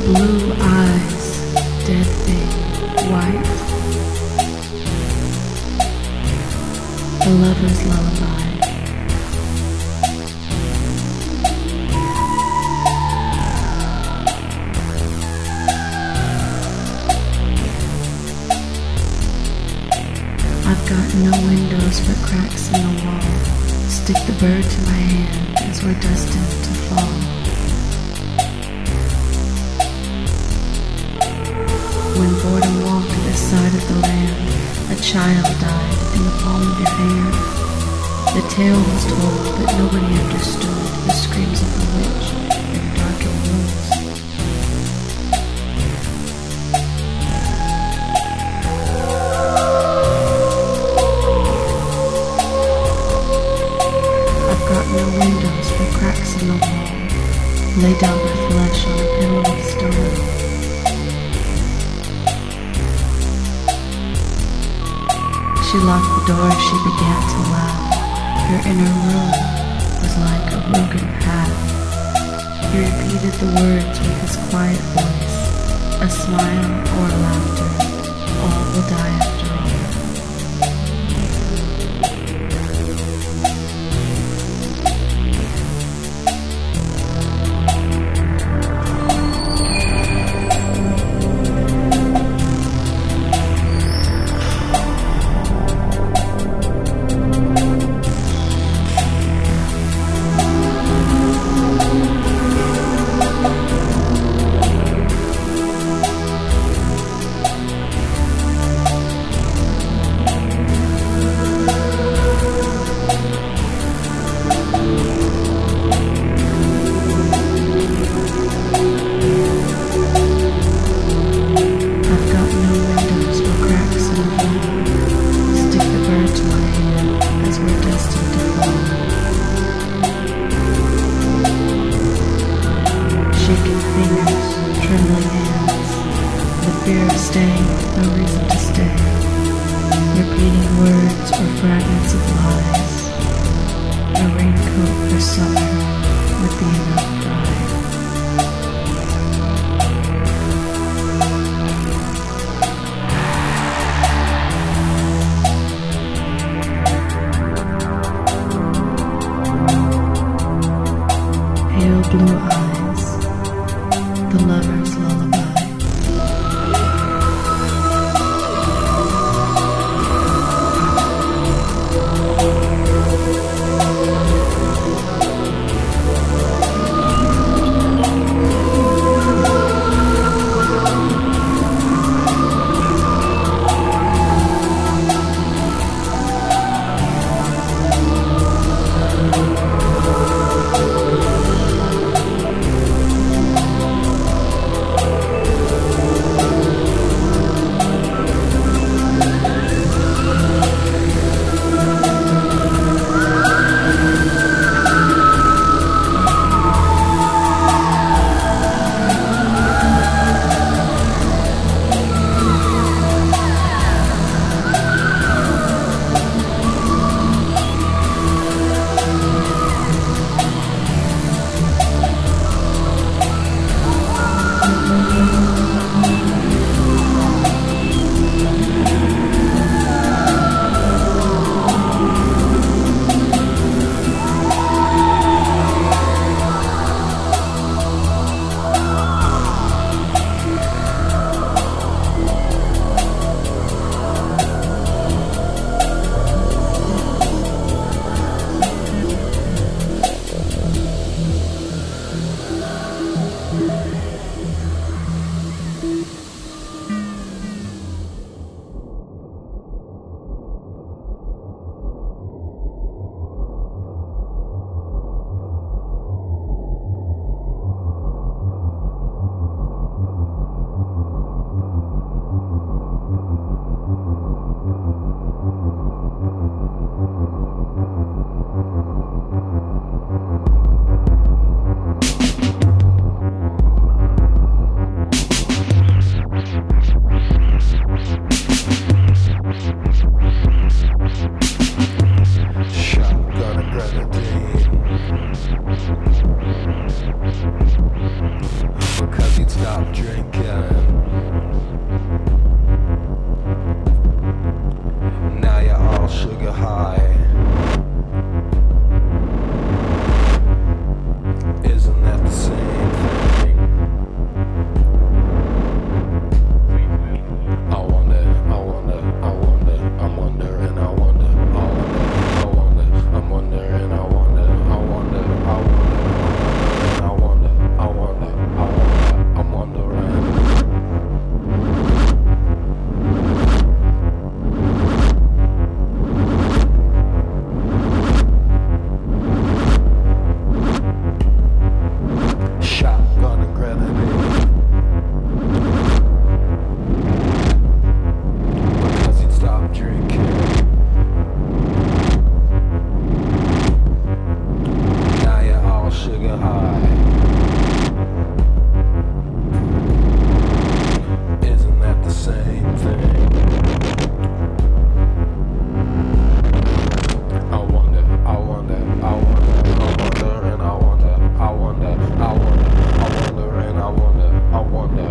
blue eyes, dead thing, white. The lover's lullaby. I've got no windows but cracks in the wall. Stick the bird to my hand as we're destined to fall. When boredom walked this side of the land, a child died in the palm of your hand. The tale was told, but nobody understood the screams of the witch in darkened rooms. I've got no windows but cracks in the wall. Lay down my flesh on a pillow of stone. She locked the door, she began to laugh. Her inner room was like a broken path. He repeated the words with his quiet voice. A smile or laughter, all will die after all. Shaking fingers, trembling hands, the fear of staying with no reason to stay, repeating words or fragments of lies, a raincoat for summer would be enough bride. Pale blue eyes, the lover's lullaby. stop drinking. Now you're all sugar high. Isn't that the same thing? I wonder, I'm wondering, I'm wondering, I'm wondering. Shotgun and grenade. Because he'd stop drinking. Now you're all sugar high. Isn't that the same thing? I wonder, and I wonder, and I wonder, and I wonder, and I wonder, and I wonder, and I wonder,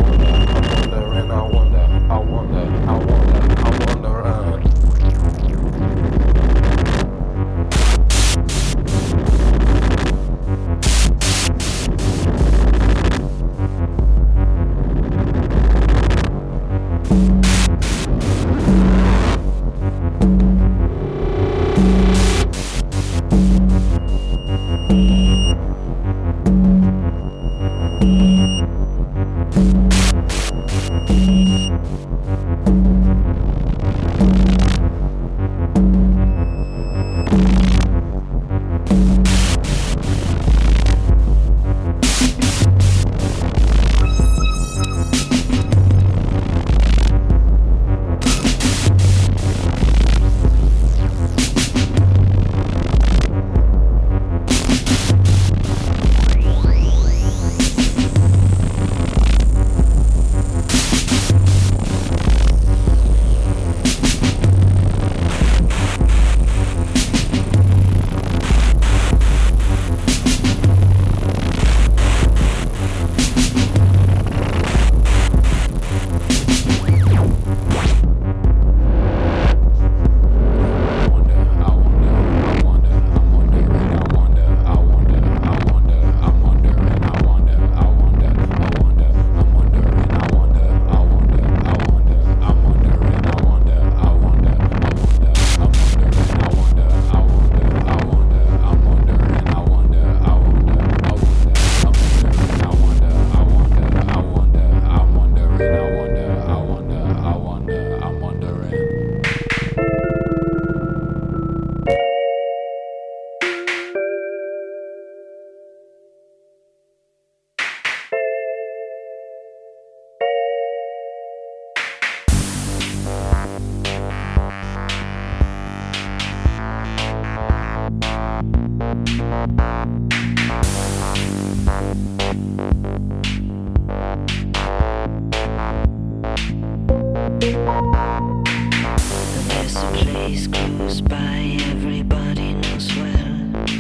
There's a place close by everybody knows well,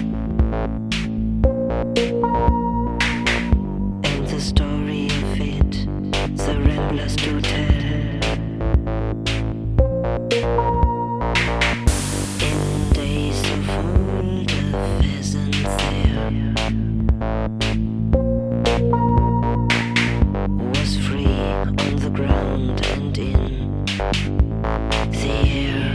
and the story of it the ramblers do tell. In days of old, a pheasant there was free on the ground and in the air.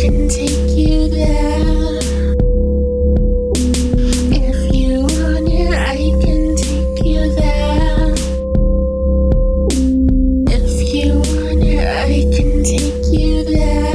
can take you there. If you want it, I can take you there. If you want it, I can take you there.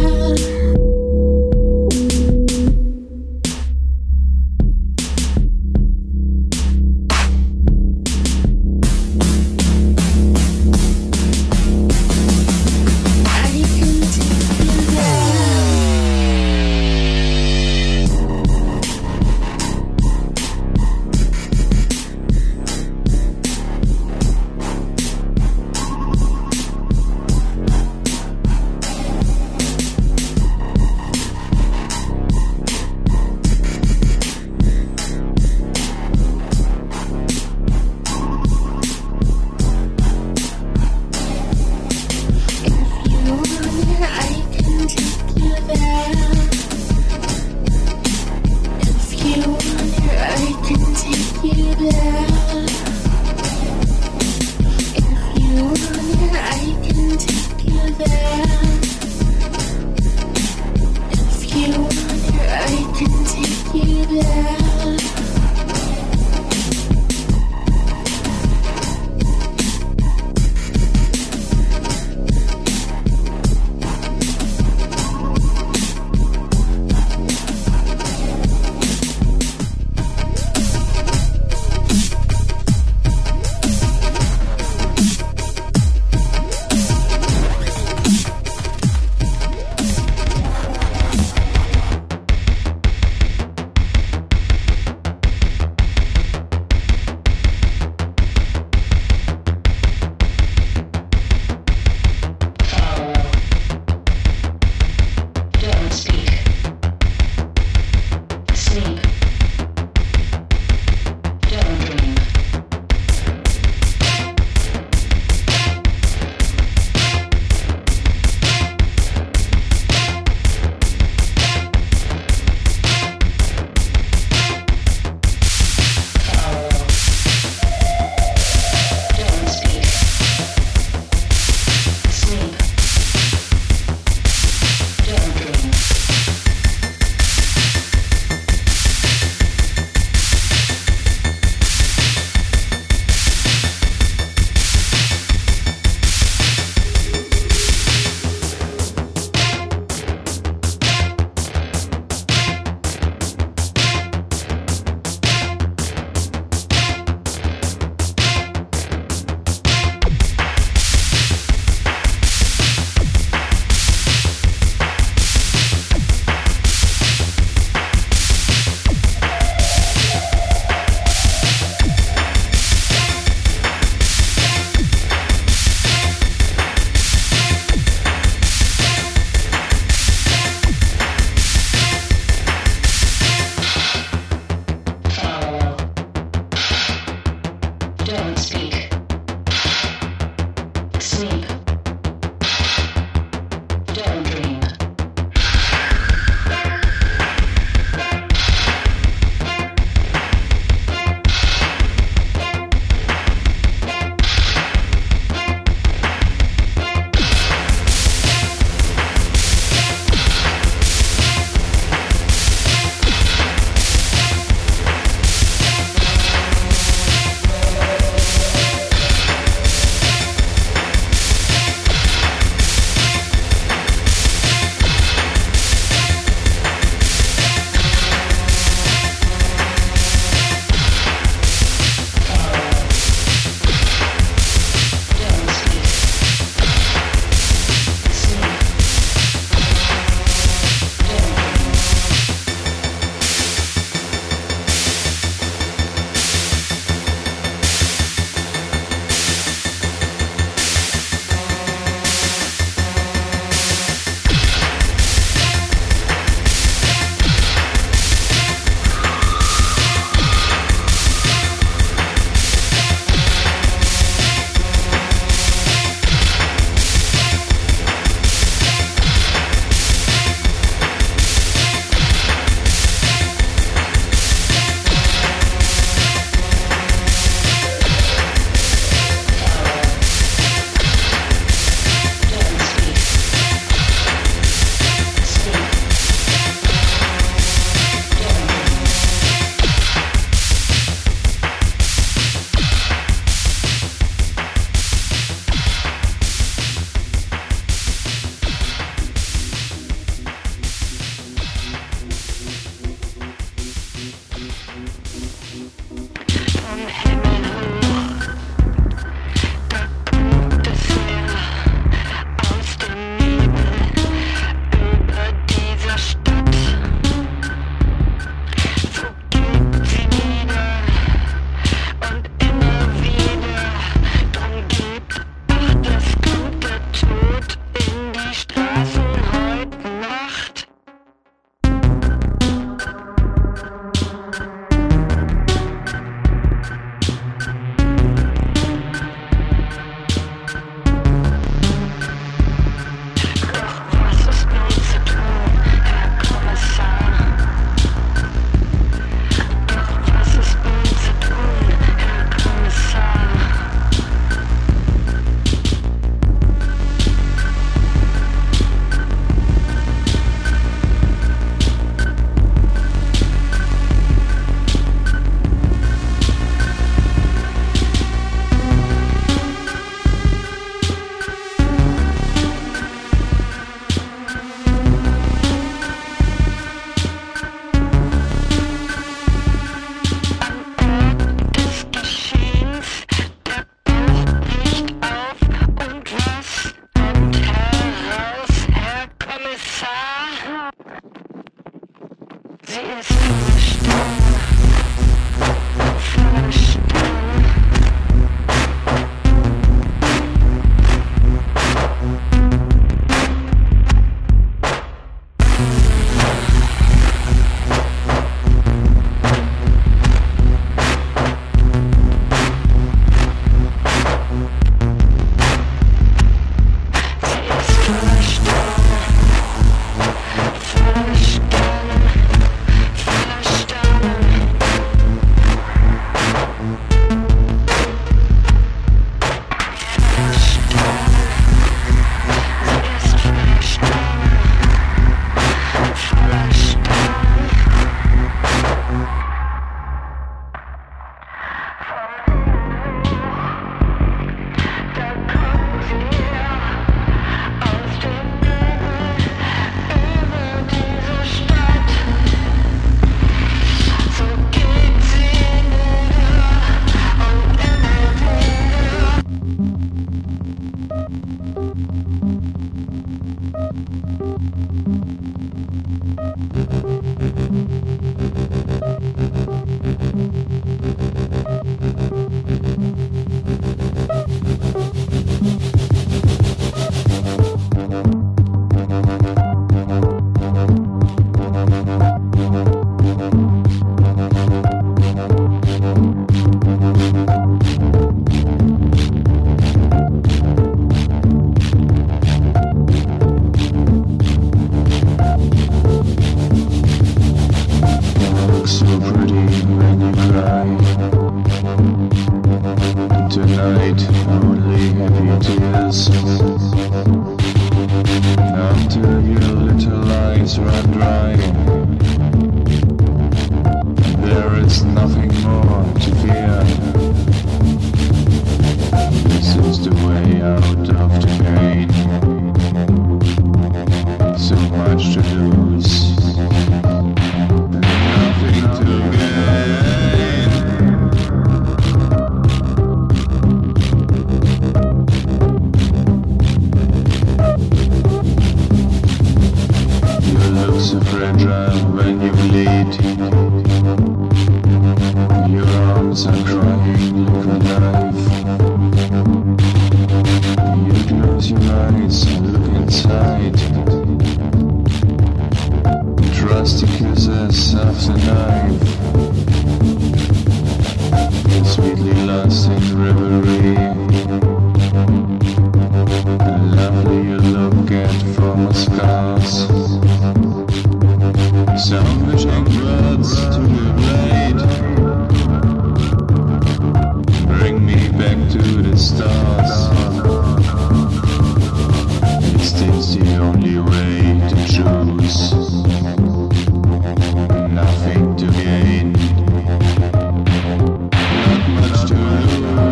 Nothing to gain, not much to lose.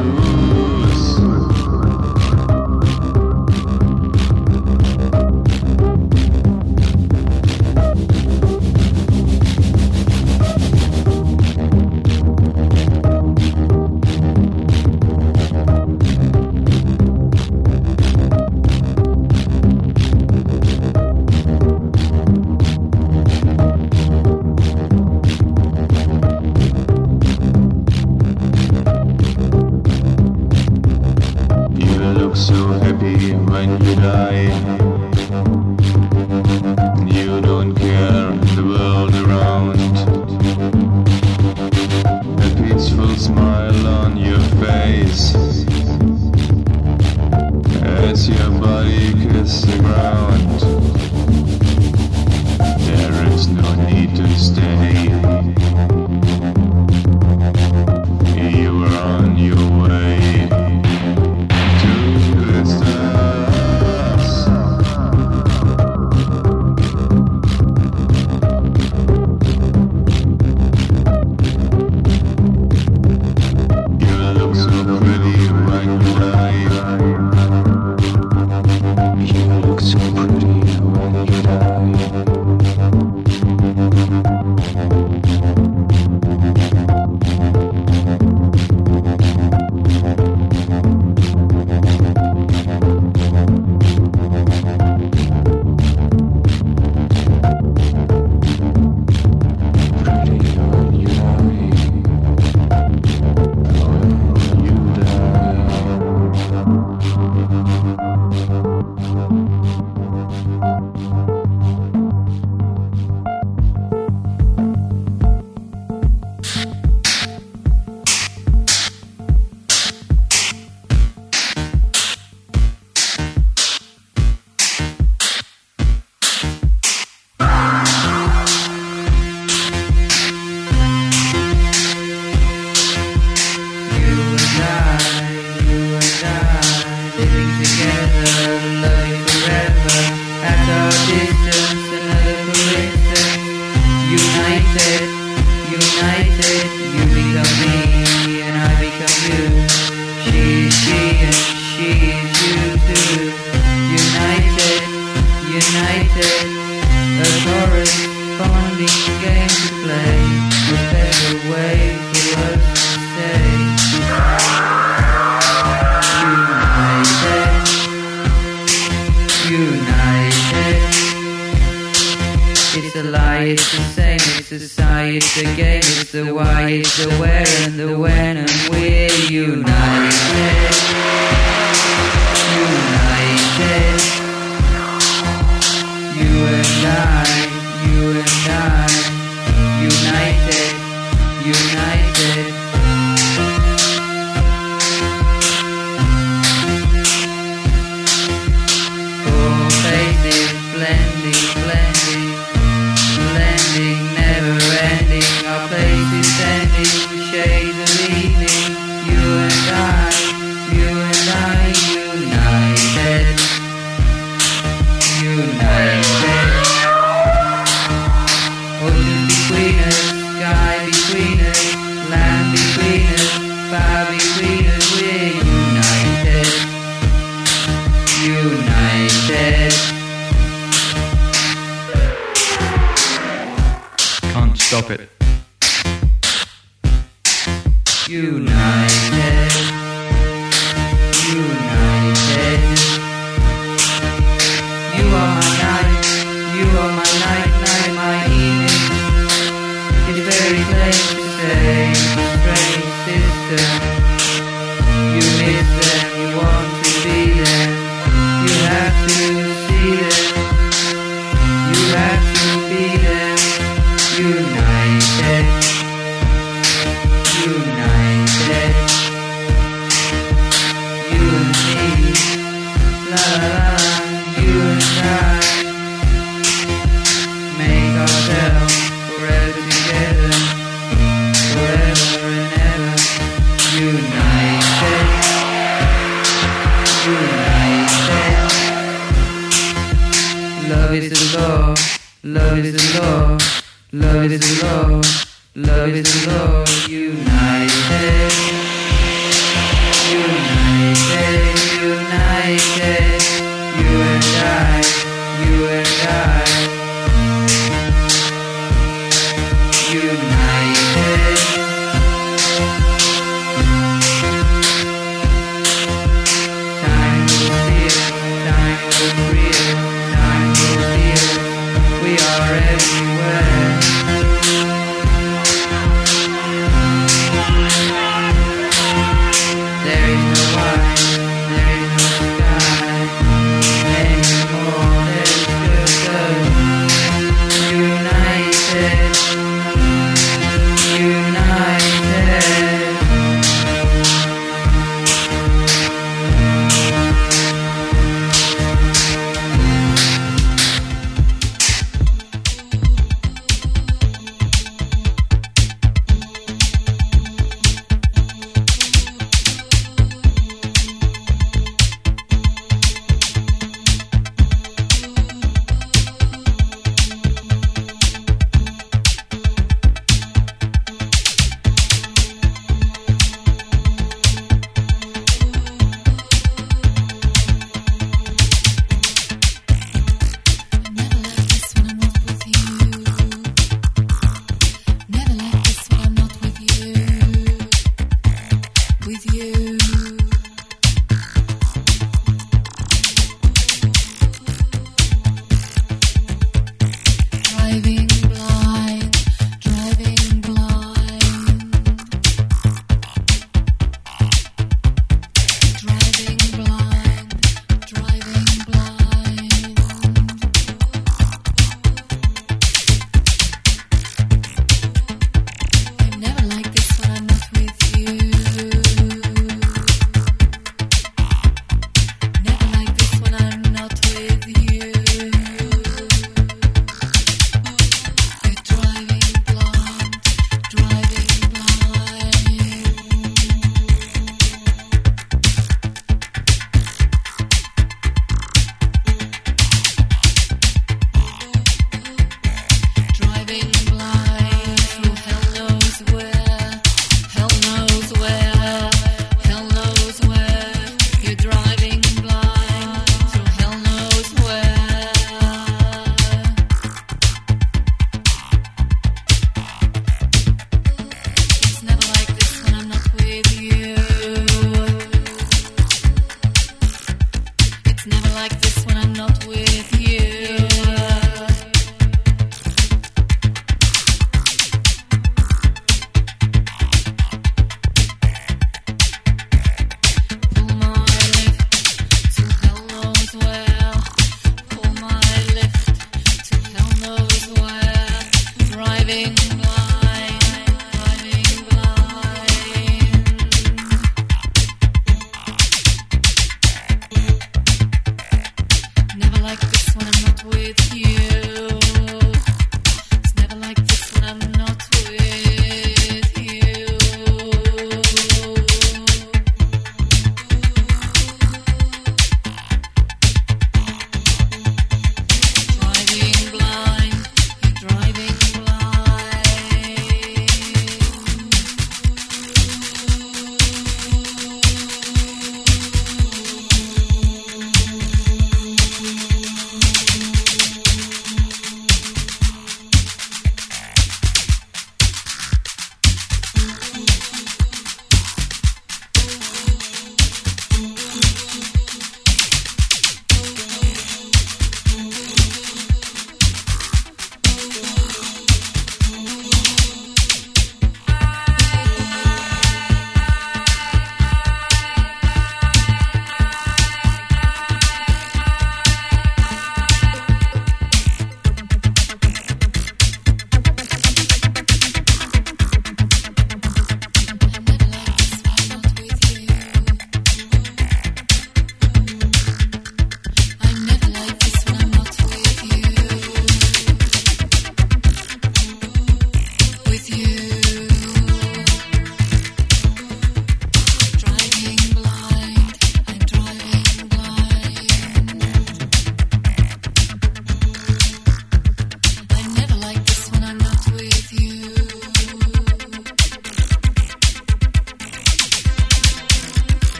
corresponding game to play. A better way for us to stay united. It's a lie, it's the same, it's a sigh, it's a game, it's the why, it's the where and the when, and we're united. United. You and I, united, united. Four faces blending, blending, blending, never ending. Our places ending, shades of evening. You and I, united, united. Ocean between us, sky between us, land between us, fire between us. We're united, united. Can't stop it. United, united. You are my night, you are my night, night, my evening. It's very plain to say, strange sister. You miss them, you want to be them. You have to see them, you have to be them. United, united. You and me, la la la, you and I. Make ourselves forever together, forever and ever. United, united. Love is the law, love is the law, love is the law, love is the law. United, united, united. You and I, you and I. United. Time will heal, time will heal, time will heal. We are everywhere. There is no white, there is no sky anymore. There's just us. United. United.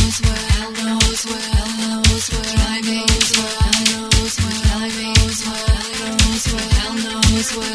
Hell knows where